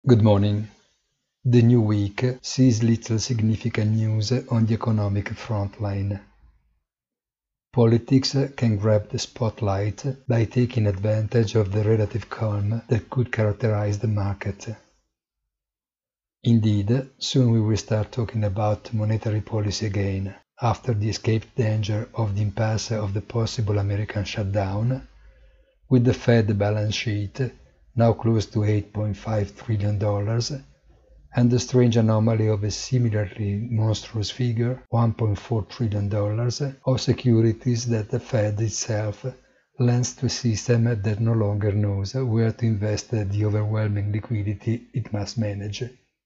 Good morning. The new week sees little significant news on the economic front line. Politics can grab the spotlight by taking advantage of the relative calm that could characterize the market. Indeed, soon we will start talking about monetary policy again, after the escaped danger of the impasse of the possible American shutdown, with the Fed balance sheet now close to $8.5 trillion, and the strange anomaly of a similarly monstrous figure, $1.4 trillion, of securities that the Fed itself lends to a system that no longer knows where to invest the overwhelming liquidity it must manage.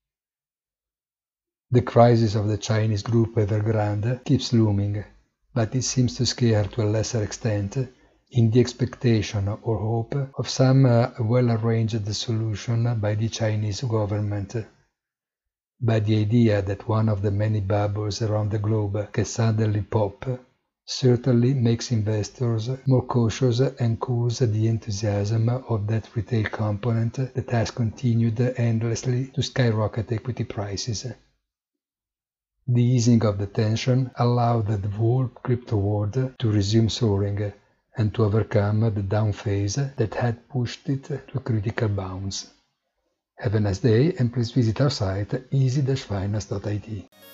The crisis of the Chinese group Evergrande keeps looming, but it seems to scare to a lesser extent in the expectation or hope of some well-arranged solution by the Chinese government. But the idea that one of the many bubbles around the globe can suddenly pop certainly makes investors more cautious and cools the enthusiasm of that retail component that has continued endlessly to skyrocket equity prices. The easing of the tension allowed the whole crypto world to resume soaring and to overcome the down phase that had pushed it to critical bounds. Have a nice day and please visit our site easy-finance.it.